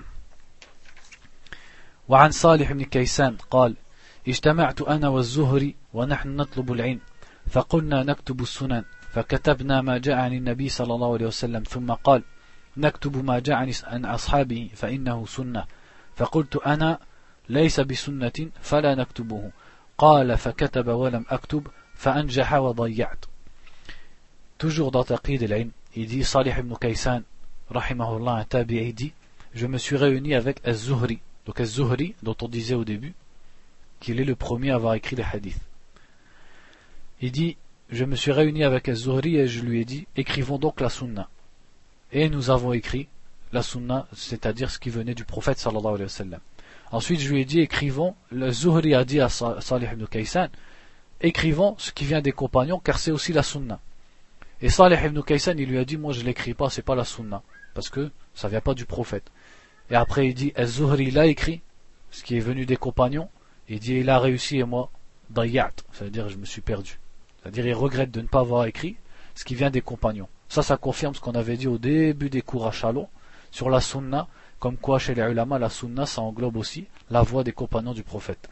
وعن صالح بن كيسان قال اجتمعت أنا والزهري ونحن نطلب العلم فقلنا نكتب السنن فكتبنا ما جاء عن النبي صلى الله عليه وسلم ثم قال نكتب ما جاء عن أصحابه فإنه سنة فقلت أنا ليس بسنة فلا نكتبه قال فكتب ولم أكتب فأنجح وضيعت. Toujours dans Taqid al-Ilm, il dit Salih ibn Kaysan rahimahullah, un tabi'i, dit, je me suis réuni avec Az-Zuhri. Donc Az-Zuhri, dont on disait au début qu'il est le premier à avoir écrit les hadiths. Il dit, je me suis réuni avec Az-Zuhri et je lui ai dit, écrivons donc la sunna. Et nous avons écrit la sunna, c'est-à-dire ce qui venait du prophète sallallahu alayhi wa sallam. Ensuite je lui ai dit, écrivons, le Zuhri a dit à Salih ibn Kaysan, écrivons ce qui vient des compagnons car c'est aussi la sunna. Et Salih ibn Kaysan, il lui a dit, moi je l'écris pas, c'est pas la sunna, parce que ça vient pas du prophète. Et après il dit, Az-Zuhri l'a écrit, ce qui est venu des compagnons, il dit, il a réussi et moi, dayat, ça veut dire je me suis perdu. C'est-à-dire il regrette de ne pas avoir écrit ce qui vient des compagnons. Ça, ça confirme ce qu'on avait dit au début des cours à Chalon, sur la sunna, comme quoi chez les ulama, la sunna, ça englobe aussi la voix des compagnons du prophète.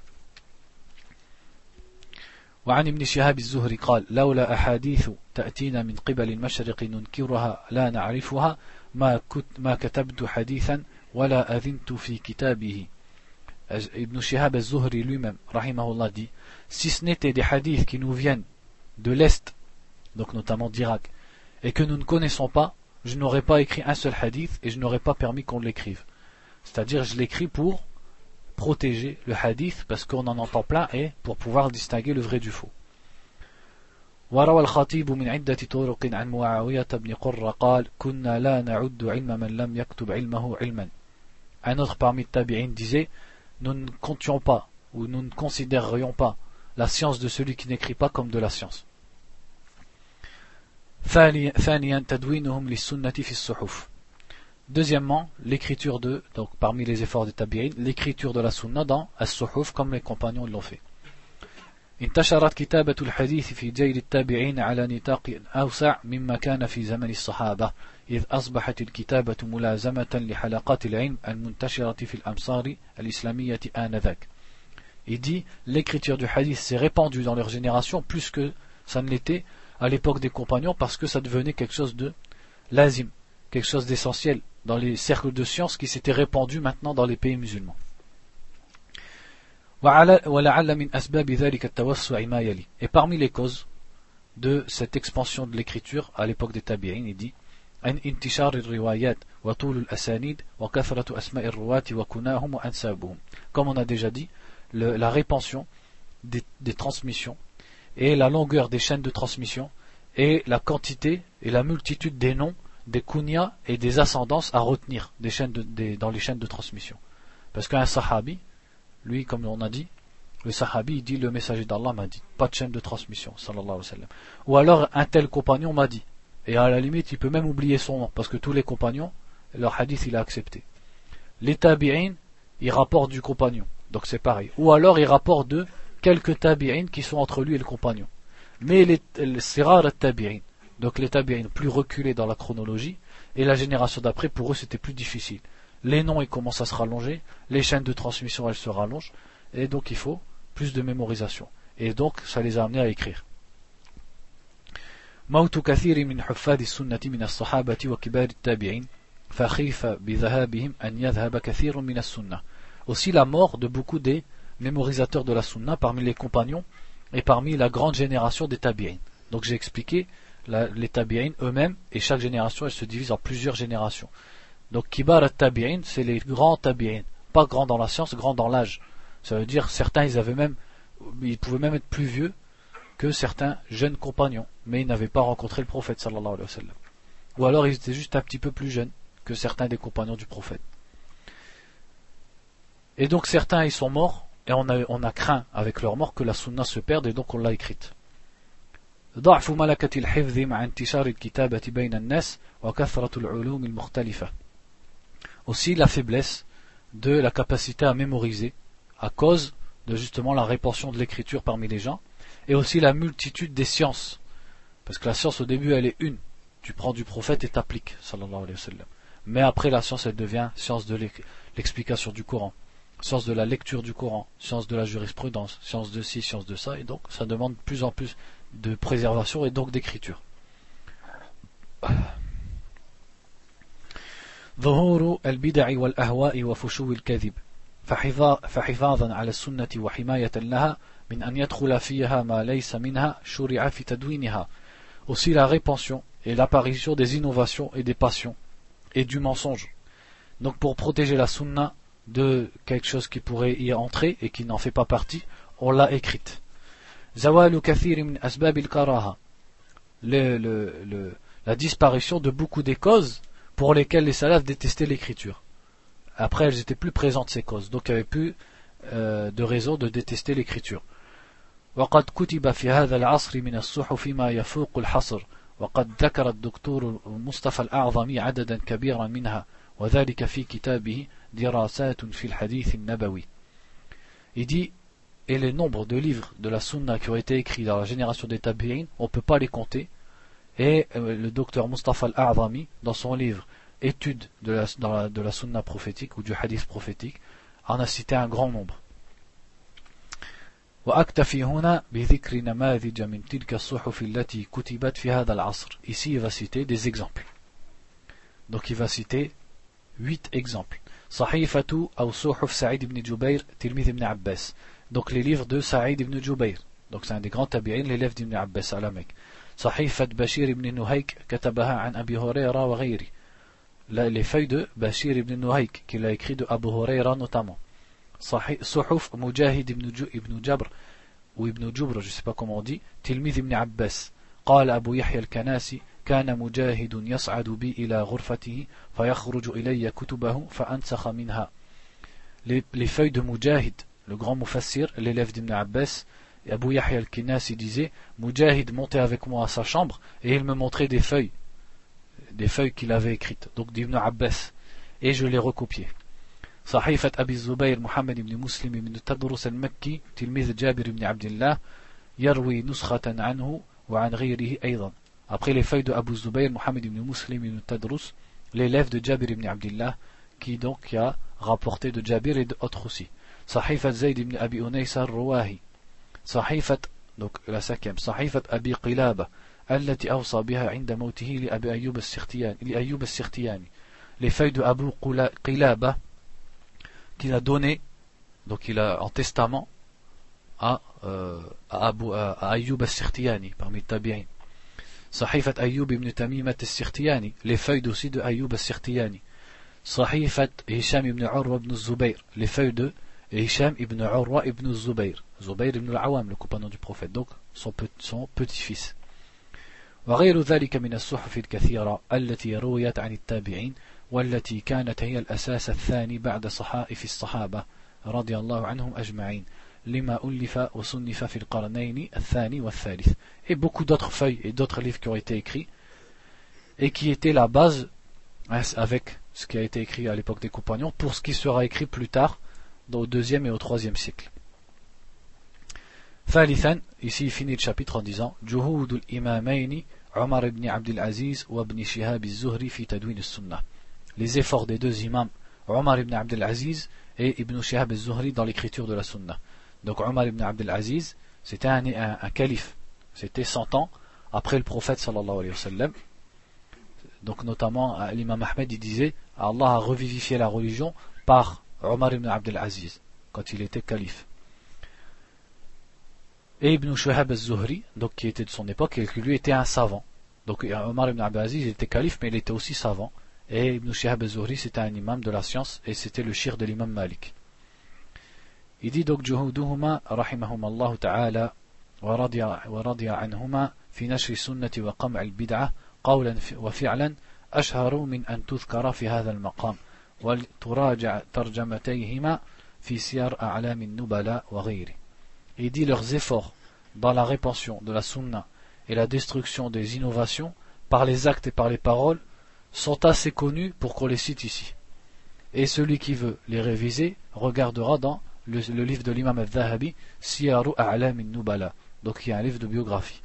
وعن ابن شهاب الزهري قال لولا أحاديث تأتينا من قبل المشرق ننكرها لا نعرفها ما ما كتبت حديثا ولا أذنت في كتابه. Ibn Shihab al-Zuhri lui-même, rahimahullah, dit, si ce n'était des hadiths qui nous viennent de l'Est, donc notamment d'Irak, et que nous ne connaissons pas, je n'aurais pas écrit un seul hadith et je n'aurais pas permis qu'on l'écrive. C'est-à-dire, je l'écris pour protéger le hadith, parce qu'on en entend plein, et pour pouvoir distinguer le vrai du faux. وروى الخطيب من عدة طرق عن معاوية بن قرة قال كنا لا نعد علم من لم يكتب علمه علما. Un autre parmi les tabi'in disait, nous ne comptions pas, ou nous ne considérerions pas la science de celui qui n'écrit pas comme de la science. ثانيا تدوينهم للسنة في الصحف. Deuxièmement, l'écriture de, donc parmi les efforts des tabi'in, l'écriture de la sunna dans as-suhuf comme les compagnons l'ont fait. انتشرت كتابة الحديث في جيل التابعين على نطاق أوسع مما كان في زمن الصحابة إذ أصبحت الكتابة ملازمة لحلقات العلم المنتشرة في الأمصار الإسلامية آنذاك. Il dit, l'écriture du hadith s'est répandue dans leur génération plus que ça ne l'était à l'époque des compagnons, parce que ça devenait quelque chose de lazim, quelque chose d'essentiel dans les cercles de sciences qui s'étaient répandus maintenant dans les pays musulmans. Et parmi les causes de cette expansion de l'écriture à l'époque des tabi'in, il dit comme on a déjà dit, le, la répansion des, des transmissions et la longueur des chaînes de transmission et la quantité et la multitude des noms, des kunyas et des ascendances à retenir des chaînes de, des, dans les chaînes de transmission. Parce qu'un sahabi, lui, comme on a dit, le sahabi, il dit, le messager d'Allah m'a dit, pas de chaîne de transmission, sallallahu alayhi wa sallam. Ou alors, un tel compagnon m'a dit. Et à la limite, il peut même oublier son nom, parce que tous les compagnons, leur hadith, il a accepté. Les tabi'in, ils rapportent du compagnon, donc c'est pareil. Ou alors, ils rapportent de quelques tabi'in qui sont entre lui et le compagnon. Mais les, c'est rare les tabi'in, donc les tabi'in plus reculés dans la chronologie, et la génération d'après, pour eux, c'était plus difficile. Les noms, ils commencent à se rallonger, les chaînes de transmission, elles se rallongent, et donc il faut plus de mémorisation. Et donc, ça les a amenés à écrire. موت كثير من حفاظ السنة من الصحابة وكبار التابعين فخيف بذهابهم أن يذهب كثير من السنة. Aussi la mort de beaucoup des mémorisateurs de la sunna parmi les compagnons et parmi la grande génération des tabi'in. Donc j'ai expliqué la, les tabi'in eux-mêmes, et chaque génération elle se divise en plusieurs générations. Donc kibar at-tabi'in, c'est les grands tabi'in, pas grands dans la science, grands dans l'âge. Ça veut dire certains ils avaient même, ils pouvaient même être plus vieux que certains jeunes compagnons, mais ils n'avaient pas rencontré le prophète sallallahu alayhi wa sallam. Ou alors ils étaient juste un petit peu plus jeunes que certains des compagnons du prophète. Et donc certains ils sont morts, et on a, on a craint avec leur mort que la sunna se perde, et donc on l'a écrite. ضعف ملكة الحفظ مع انتشار الكتابة بين الناس وكثرة العلوم المختلفة. Aussi la faiblesse de la capacité à mémoriser à cause de justement la répansion de l'écriture parmi les gens, et aussi la multitude des sciences, parce que la science au début elle est une, tu prends du prophète et t'appliques sallallahu alayhi wa sallam. Mais après la science elle devient science de l'explication du Coran, science de la lecture du Coran, science de la jurisprudence, science de ci, science de ça, et donc ça demande de plus en plus de préservation et donc d'écriture. ظهور البدع والأهواء وفشو الكذب فحفاظا على السنة وحماية لها من أن يدخل فيها ما ليس منها شرع في تدوينها. Aussi la répansion et l'apparition des innovations et des passions et du mensonge. Donc pour protéger la sunna de quelque chose qui pourrait y entrer et qui n'en fait pas partie, on l'a écrite. زوال كثير من أسباب الكراهة. Le, le, le, la disparition de beaucoup des causes pour lesquelles les salafs détestaient l'écriture. Après, elles étaient plus présentes, ces causes, donc il n'y avait plus euh, de raison de détester l'écriture. وقد كتب في هذا العصر من الصحف ما يفوق الحصر وقد ذكر الدكتور مصطفى الأعظمي عددا كبيرا منها وذلك في كتابه دراسات في الحديث النبوي. Il dit, et les nombres de livres de la sunna qui ont été écrits dans la génération des tabi'in, on ne peut pas les compter. Et euh, le docteur Mustafa al-A'zami, dans son livre Études de la, dans la, de la sunna prophétique ou du hadith prophétique, en a cité un grand nombre. وأكتفي هنا بذكر نماذج من تلك الصحف التي كتبت في هذا العصر. Ici il va citer des exemples. Donc il va citer huit exemples. صحيفة أو صحف سعيد بن جبير تلميذ ابن عباس. Donc les livres de Saïd ibn Jubayr. Donc c'est un des grands tabi'in, l'élève d'Ibn Abbas à la Mecque. صحيفة بشير ibn Nuhayk كتبها عن أبي هريرة وغيره. Les feuilles de Bashir ibn Nuhayk qu'il a écrit de Abu Huraira notamment. صحف مجاهد ibn Jabr ou ibn Jubr, je ne sais pas comment on dit, تلميذ ابن عباس. قال أبو يحيى الكناسي كان مجاهد يصعد بي إلى غرفته فيخرج إلي كتبه فأنسخ منها. Les, les feuilles de Mujahid, le grand mufassir, l'élève d'Ibn Abbas, et Abu Yahya al-Kinasi disait, Mujahid montait avec moi à sa chambre et il me montrait des feuilles, des feuilles qu'il avait écrites, donc d'Ibn Abbas, et je les recopiais. صحيفة أبي الزبير محمد بن مسلم بن تدرس المكي تلميذ جابر بن عبد الله يروي نسخة عنه وعن غيره أيضا. Après les feuilles de Abu Zubayr, Mohammed ibn Muslim ibn Tadrus, l'élève de Jabir ibn Abdillah, qui donc a rapporté de Jabir et d'autres aussi. Sahifat Zayd ibn Abi Unaysa al-Ruwahi. Sahifat, donc la cinquième, Sahifat Abi Qilaba, التي أوصى بها عند موته لأبي أيوب السختياني لأيوب السختياني. Les feuilles de Abu Qilaba qu'il a donné, donc il a en testament à, euh, à, Abu, à, à Ayyub al-Sirtiyani parmi les tabi'in. Sahifat Ayyub ibn Tamimat al-Sirtiyani, les feuilles aussi de Ayyub al-Sirtiyani. Sahifat Hisham ibn Urwa ibn Zubayr, les feuilles de Hisham ibn Urwa ibn Zubayr, Zubayr ibn al-Awam, le compagnon du prophète, donc son, son petit-fils. وغير ذلك من الصحف الكثيرة التي رويت عن التابعين والتي كانت هي الأساس الثاني بعد صحائف الصحابة رضي الله عنهم أجمعين لما ألف وصنف في القرنين الثاني والثالث. Et beaucoup d'autres feuilles et d'autres livres qui ont été écrits et qui étaient la base avec ce qui a été écrit à l'époque des compagnons pour ce qui sera écrit plus tard au deuxième et au troisième siècle. ثالثا, ici il finit le chapitre en disant جهود الإمامين عمر بن عبد العزيز وابن شهاب الزهري في تدوين السنة. Les efforts des deux imams Omar ibn Abd al-Aziz et Ibn Shihab al-Zuhri dans l'écriture de la Sunna. Donc Omar ibn Abd al-Aziz, c'était un, un, un calife, c'était cent ans après le prophète sallallahu alayhi wa sallam. Donc notamment l'imam Ahmed il disait Allah a revivifié la religion par Omar ibn Abd al-Aziz quand il était calife. Et Ibn Shihab al-Zuhri, donc qui était de son époque et qui lui était un savant. Donc Omar ibn Abd al-Aziz il était calife mais il était aussi savant. Et Ibn Shihab al-Zuhri c'était un imam de la science et c'était le shir de l'imam Malik. Il dit donc جهودهما رحمهما الله تعالى ورضي ورضي عنهما في نشر السنة وقمع البدعة قولا وفعلا أشهر من أن تذكر في هذا المقام وتراجع ترجمتيهما في سير أعلام النبلاء وغيره. Il dit leurs efforts dans la répansion de la sunna et la destruction des innovations par les actes et par les paroles sont assez connus pour qu'on les cite ici. Et celui qui veut les réviser regardera dans le, le livre de l'imam al-Dhahabi, Siyaru A'lam al-Nubala, donc il y a un livre de biographie.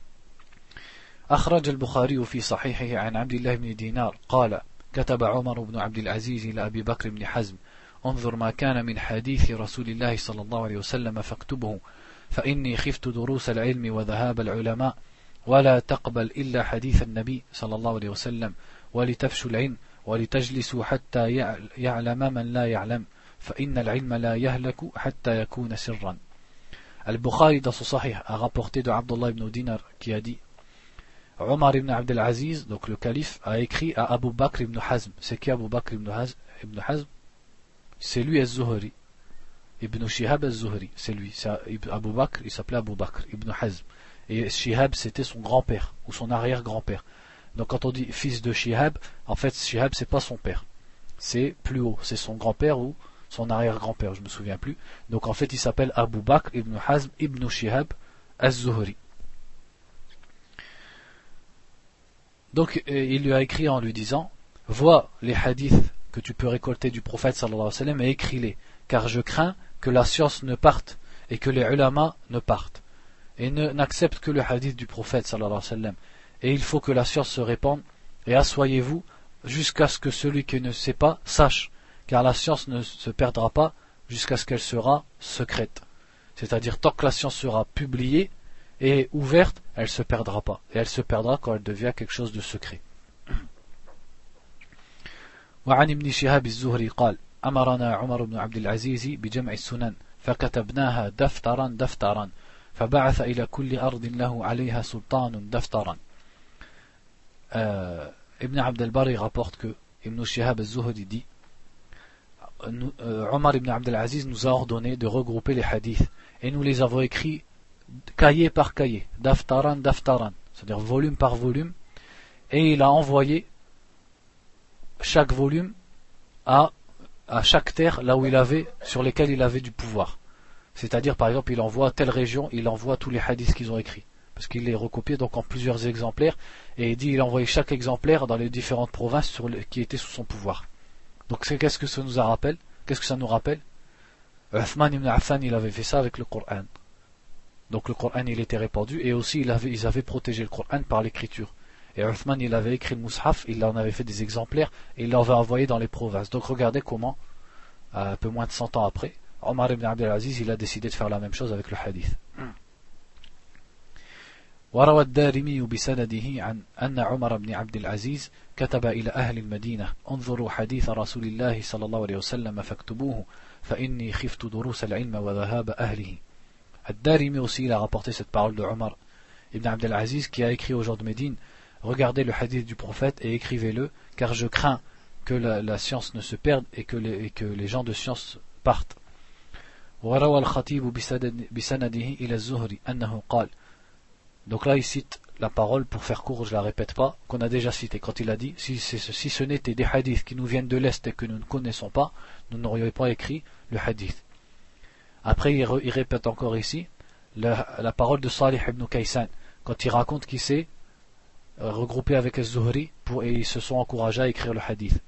أخرج البخاري في صحيحه عن عبد الله بن دينار قال كتب عمر بن عبد العزيز إلى أبي بكر بن حزم انظر ما كان من حديث رسول الله صلى الله عليه وسلم فاكتبه فإني خفت دروس العلم وذهاب العلماء ولا تقبل إلا حديث النبي صلى الله عليه وسلم ولتفشوا العلم ولتجلسوا حتى يعلم من لا يعلم فإن العلم لا يهلك حتى يكون سرا. Al-Bukhari dans son Sahih a rapporté de Abdullah ibn Dinar qui a dit Omar ibn Abd al-Aziz, donc le calife, a écrit à Abu Bakr ibn Hazm. C'est qui Abu Bakr ibn Hazm, ibn Hazm C'est lui al-Zuhri. Ibn Shihab al-Zuhri, c'est lui. C'est Abu Bakr, il s'appelait Abu Bakr ibn Hazm. Et Shihab c'était son grand-père ou son arrière-grand-père. Donc quand on dit fils de Shihab, en fait Shihab c'est pas son père, c'est plus haut, c'est son grand-père ou son arrière-grand-père, je me souviens plus. Donc en fait il s'appelle Abu Bakr ibn Hazm ibn Shihab az-Zuhri. Donc il lui a écrit en lui disant vois les hadiths que tu peux récolter du prophète sallallahu alayhi wa sallam et écris-les, car je crains que la science ne parte et que les ulama ne partent et ne, n'acceptent que le hadith du prophète sallallahu alayhi wa sallam. Et il faut que la science se répande, et assoyez-vous jusqu'à ce que celui qui ne sait pas sache, car la science ne se perdra pas jusqu'à ce qu'elle sera secrète. C'est-à-dire tant que la science sera publiée et ouverte, elle ne se perdra pas. Et elle se perdra quand elle devient quelque chose de secret. وعن ابن شهاب الزهري قال أمرنا عمر بن عبد العزيز بجمع السنن فكتبناها دفترا دفترا فبعث إلى كل أرض له عليها سلطان دفترا. Euh, Ibn Abd al-Bari rapporte que Ibn Shihab al-Zuhri dit nous, euh, Omar ibn Abd al-Aziz nous a ordonné de regrouper les hadiths et nous les avons écrits cahier par cahier, daftaran daftaran, c'est-à-dire volume par volume, et il a envoyé chaque volume à, à chaque terre là où il avait, sur lesquelles il avait du pouvoir. C'est-à-dire par exemple il envoie à telle région, il envoie tous les hadiths qu'ils ont écrits, parce qu'il les recopiait donc en plusieurs exemplaires, et il dit il envoyait chaque exemplaire dans les différentes provinces sur les, qui étaient sous son pouvoir. Donc c'est, qu'est-ce que ça nous rappelle Qu'est-ce que ça nous rappelle Uthman ibn Affan il avait fait ça avec le Coran. Donc le Coran il était répandu, et aussi il avait, ils avaient protégé le Coran par l'écriture. Et Uthman il avait écrit le Mus'haf, il en avait fait des exemplaires, et il l'avait envoyé dans les provinces. Donc regardez comment, un peu moins de cent ans après, Omar ibn Abdel Aziz il a décidé de faire la même chose avec le hadith. وروى الدارمي بسنده عن أن عمر بن عبد العزيز كتب إلى أهل المدينة انظروا حديث رسول الله صلى الله عليه وسلم فاكتبوه فإني خفت دروس العلم وذهاب أهله. Ad-Darimi aussi il a rapporté cette parole de Omar ibn Abdel Aziz qui a écrit aux gens de Médine: regardez le hadith du prophète et écrivez-le, car je crains que la, la science ne se perde et que les, et que les gens de science partent. وروى الخطيب بسنده إلى الزهري أنه قال. Donc là il cite la parole, pour faire court je la répète pas, qu'on a déjà cité quand il a dit si, si ce n'était des hadiths qui nous viennent de l'Est et que nous ne connaissons pas, nous n'aurions pas écrit le hadith. Après il, re, il répète encore ici la, la parole de Salih ibn Kaysan quand il raconte qu'il s'est euh, regroupé avec Az-Zuhri pour, et ils se sont encouragés à écrire le hadith.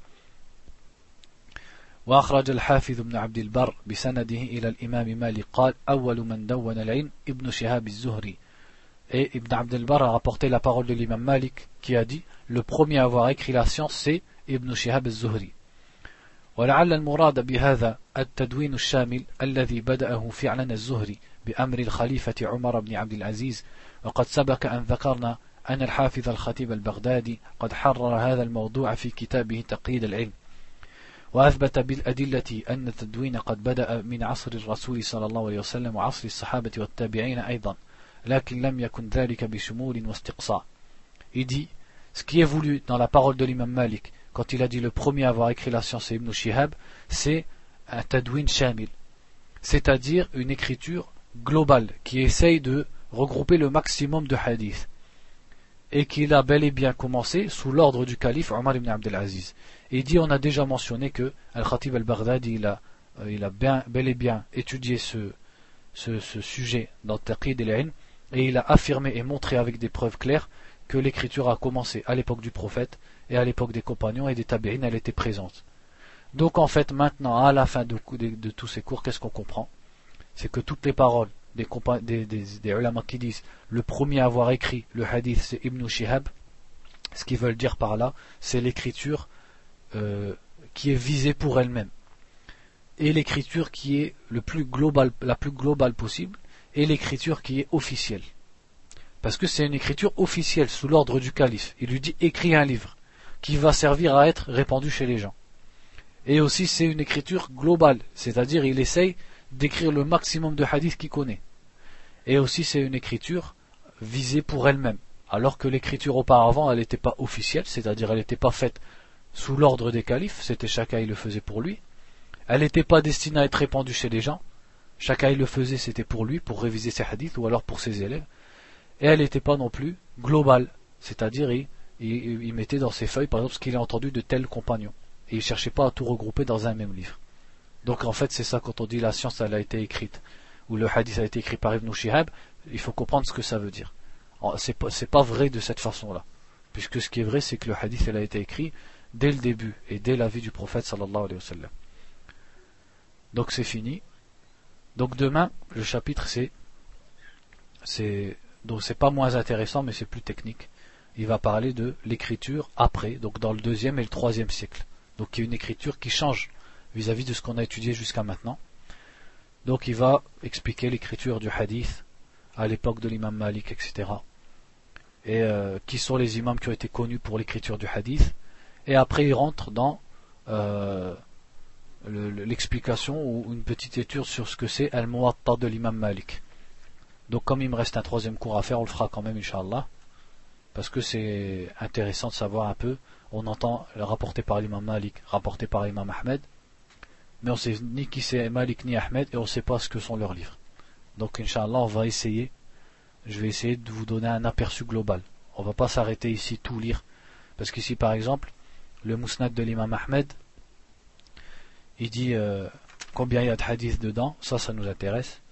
وأخرج الحافظ ابن عبد البر بسنده إلى الإمام مالك قال أول من دون العلم ابن شهاب الزهري. Et Ibn Abd al-Barr a rapporté la parole de l'imam Malik qui a dit le premier à avoir écrit la science c'est Ibn Shihab al-Zuhri. ولعل المراد بهذا التدوين الشامل الذي بدأه فعلا الزهري بأمر الخليفة عمر بن عبد العزيز، وقد سبق أن ذكرنا أن الحافظ الخطيب البغدادي قد حرر هذا الموضوع في كتابه تقييد العلم، وأثبت بالأدلة أن التدوين قد بدأ من عصر الرسول صلى الله عليه وسلم وعصر الصحابة والتابعين أيضا، لكن لم يكن ذلك بشمول واستقصاء. Il dit, ce qui est voulu dans la parole de l'imam Malik, quand il a dit le premier à avoir écrit la science c'est Ibn Shihab, c'est un tadwin shamil, c'est-à-dire une écriture globale qui essaye de regrouper le maximum de hadiths, et qu'il a bel et bien commencé sous l'ordre du calife Omar ibn Abdel Aziz. Et il dit, on a déjà mentionné que Al-Khatib al-Baghdadi il a, il a bien, bel et bien étudié ce, ce, ce sujet dans Taqid al-Ilm, et il a affirmé et montré avec des preuves claires que l'écriture a commencé à l'époque du prophète et à l'époque des compagnons et des tabi'in, elle était présente. Donc en fait maintenant à la fin de, de, de tous ces cours, qu'est-ce qu'on comprend? C'est que toutes les paroles des, des, des, des ulama qui disent le premier à avoir écrit le hadith c'est Ibn Shihab, ce qu'ils veulent dire par là c'est l'écriture euh, qui est visée pour elle-même, et l'écriture qui est le plus global, la plus globale possible, et l'écriture qui est officielle, parce que c'est une écriture officielle sous l'ordre du calife. Il lui dit écris un livre qui va servir à être répandu chez les gens, et aussi c'est une écriture globale, c'est-à-dire il essaye d'écrire le maximum de hadiths qu'il connaît, et aussi c'est une écriture visée pour elle-même, alors que l'écriture auparavant elle n'était pas officielle, c'est-à-dire elle n'était pas faite sous l'ordre des califes, c'était chacun il le faisait pour lui, elle n'était pas destinée à être répandue chez les gens, chacun il le faisait c'était pour lui, pour réviser ses hadiths ou alors pour ses élèves, et elle n'était pas non plus globale, c'est-à-dire il, il, il mettait dans ses feuilles par exemple ce qu'il a entendu de tel compagnon, et il ne cherchait pas à tout regrouper dans un même livre. Donc en fait c'est ça, quand on dit la science elle a été écrite, ou le hadith a été écrit par Ibn Shihab, il faut comprendre ce que ça veut dire. C'est pas, c'est pas vrai de cette façon-là, puisque ce qui est vrai c'est que le hadith elle a été écrit dès le début et dès la vie du prophète sallallahu alayhi wa sallam. Donc c'est fini. Donc demain le chapitre c'est c'est donc c'est pas moins intéressant mais c'est plus technique. Il va parler de l'écriture après, donc dans le deuxième et le troisième siècle. Donc il y a une écriture qui change vis-à-vis de ce qu'on a étudié jusqu'à maintenant. Donc il va expliquer l'écriture du hadith à l'époque de l'imam Malik, et cetera. Et euh, qui sont les imams qui ont été connus pour l'écriture du hadith. Et après il rentre dans euh, le, le, l'explication ou une petite étude sur ce que c'est Al-Muwatta de l'imam Malik. Donc comme il me reste un troisième cours à faire, on le fera quand même Inch'Allah, parce que c'est intéressant de savoir un peu. On entend rapporté par l'imam Malik, rapporté par l'imam Ahmed, mais on sait ni qui c'est Malik ni Ahmed, et on ne sait pas ce que sont leurs livres. Donc Inch'Allah on va essayer, je vais essayer de vous donner un aperçu global. On ne va pas s'arrêter ici tout lire, parce qu'ici par exemple le Musnad de l'imam Ahmed, il dit euh, combien il y a de hadiths dedans, ça ça nous intéresse.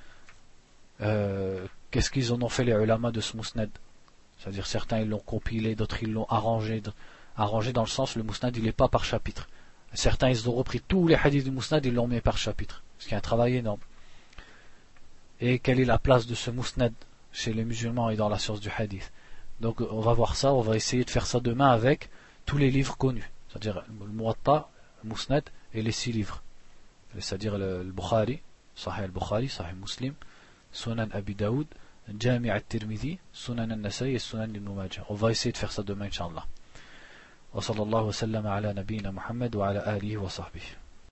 Euh, qu'est-ce qu'ils en ont fait les ulama de ce Musnad, c'est-à-dire certains ils l'ont compilé, d'autres ils l'ont arrangé, arrangé dans le sens le Musnad il n'est pas par chapitre. Certains ils ont repris tous les hadiths du Musnad, ils l'ont mis par chapitre, ce qui est un travail énorme. et quelle est la place de ce musnad chez les musulmans et dans la science du hadith. Donc on va voir ça, on va essayer de faire ça demain avec tous les livres connus, c'est-à-dire le Muwatta, le Musnad et les six livres, c'est-à-dire le, le Bukhari, Sahih al-Bukhari, Sahih Muslim, Sunan Abi Daoud, Jami' al-Tirmidhi, Sunan al-Nasai et Sunan Ibn Majah. On va essayer de faire ça demain, Inch'Allah. Wa sallallahu wa sallam ala nabiyyina Muhammad wa ala alihi wa sahbihi.